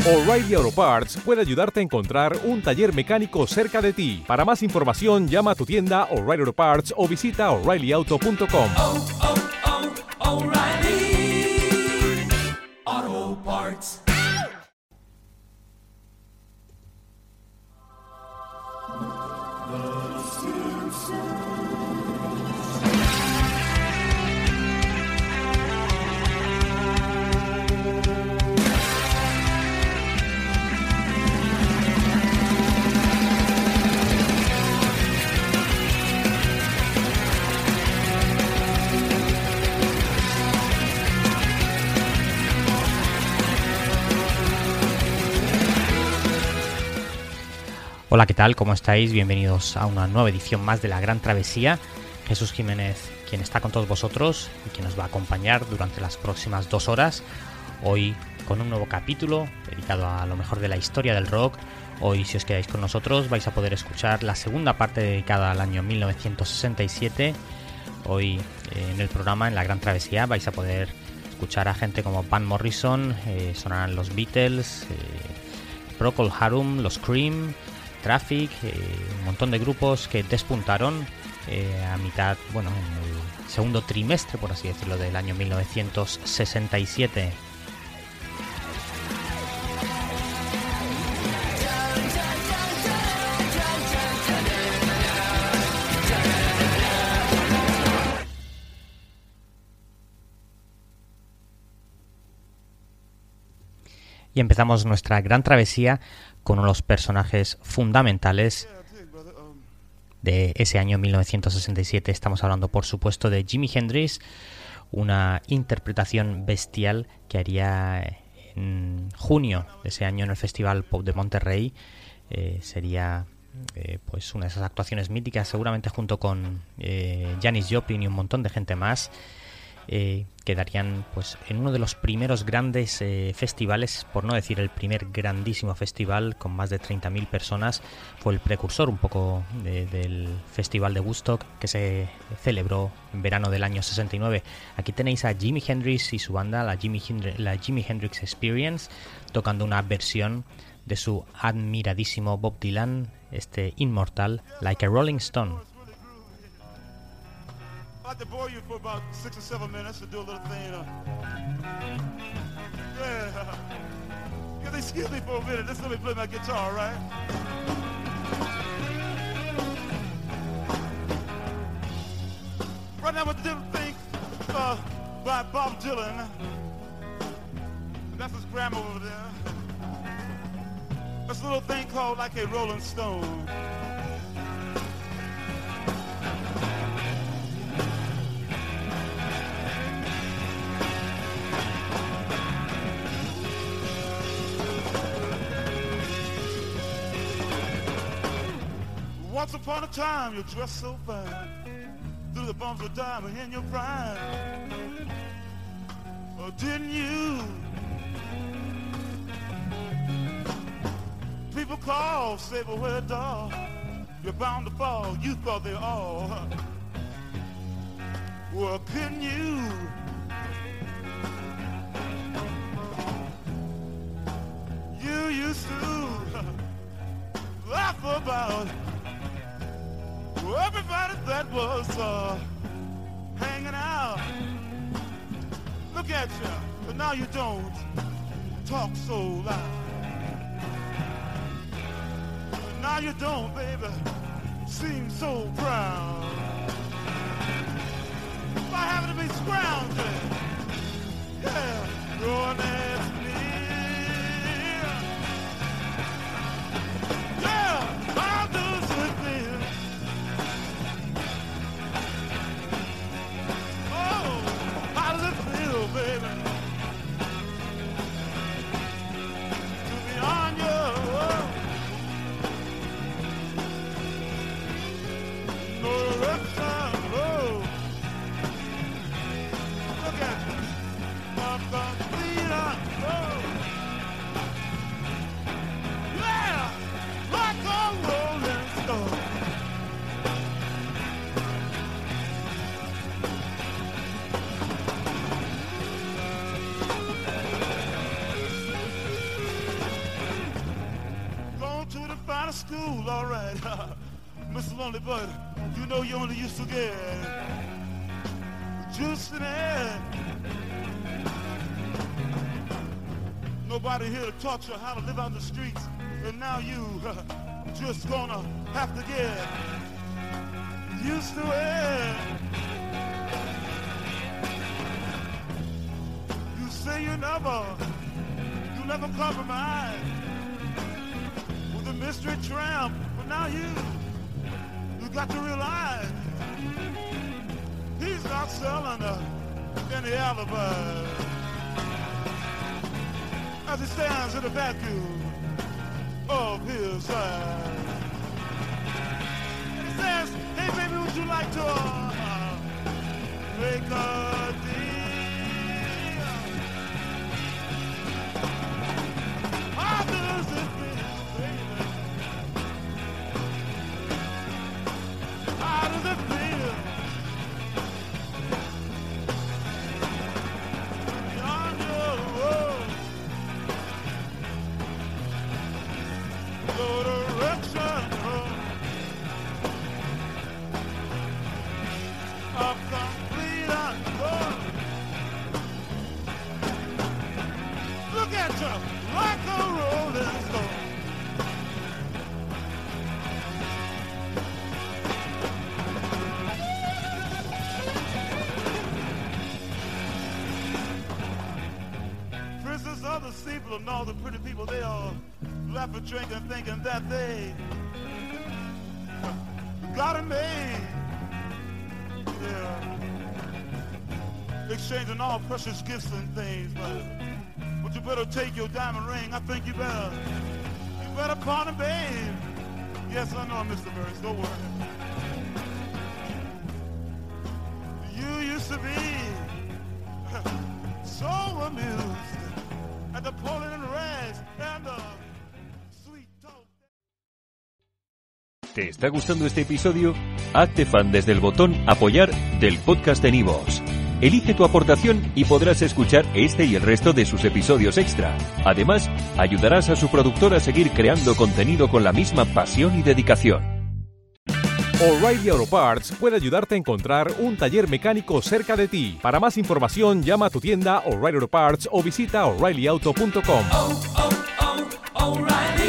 O'Reilly Auto Parts puede ayudarte a encontrar un taller mecánico cerca de ti. Para más información, llama a tu tienda O'Reilly Auto Parts o visita O'ReillyAuto.com. O'Reilly Auto Parts. Hola, ¿qué tal? ¿Cómo estáis? Bienvenidos a una nueva edición más de La Gran Travesía. Jesús Jiménez, quien está con todos vosotros y quien nos va a acompañar durante las próximas 2 horas. Hoy con un nuevo capítulo dedicado a lo mejor de la historia del rock. Hoy, si os quedáis con nosotros, vais a poder escuchar la segunda parte dedicada al año 1967. Hoy en el programa, en La Gran Travesía, vais a poder escuchar a gente como Van Morrison, sonarán los Beatles, Procol Harum, los Cream, Traffic, un montón de grupos que despuntaron a mitad, bueno, en el segundo trimestre, por así decirlo, del año 1967. Y empezamos nuestra gran travesía con uno de los personajes fundamentales de ese año 1967. Estamos hablando, por supuesto, de Jimi Hendrix, una interpretación bestial que haría en junio de ese año en el Festival Pop de Monterrey. Sería pues una de esas actuaciones míticas, seguramente junto con Janis Joplin y un montón de gente más. Quedarían pues en uno de los primeros grandes festivales, por no decir el primer grandísimo festival con más de 30.000 personas. Fue el precursor un poco del festival de Woodstock, que se celebró en verano del año 69. Aquí tenéis a Jimi Hendrix y su banda, la Jimi Hendrix Experience, tocando una versión de su admiradísimo Bob Dylan, este inmortal, Like a Rolling Stone. I'd like to bore you for about 6 or 7 minutes to do a little thing. Yeah, excuse me for a minute. Just let me play my guitar, right? Right now, we're doing a thing by Bob Dylan. That's his grandma over there. That's a little thing called Like a Rolling Stone. Once upon a time, you dressed so fine, through the bumps of diamond in your prime. Oh, didn't you? People call, say, but where, dog? You're bound to fall. You thought they all. Well, couldn't you? You used to laugh about everybody that was hanging out. Look at you, but now you don't talk so loud. Now you don't, baby, seem so proud. By having to be scrounging, yeah, going at me. Yeah, I'll do something. Baby, to be on your own. No direction, oh. Look at you. I'm complete, school, all right. Mr. Lonely Bud, you know you only used to get juice in the head. Nobody here to taught you how to live out in the streets, and now you just gonna have to get used to it. You say you never compromise with the mystery tramp, but now you got to realize he's not selling any alibi as he stands in the vacuum of his side. And he says, hey baby, would you like to make a deal? How does it feel, baby? How does it feel? Beyond your road, your direction of complete unknown. Look at you, like a rolling stone. Princess of the sea people and all the pretty people, they all laugh and drink and thinking that they got it made. Yeah. Exchanging all precious gifts and things, but you better take your diamond ring. I think you better pawn it, babe. Yes, I know, Mr. Burns, don't worry. You used to be so amused at the pulling and rags and the sweet talk. ¿Te está gustando este episodio? Hazte fan desde el botón Apoyar del podcast de Nivos. Elige tu aportación y podrás escuchar este y el resto de sus episodios extra. Además, ayudarás a su productor a seguir creando contenido con la misma pasión y dedicación. O'Reilly Auto Parts puede ayudarte a encontrar un taller mecánico cerca de ti. Para más información, llama a tu tienda O'Reilly Auto Parts o visita O'ReillyAuto.com. O'Reilly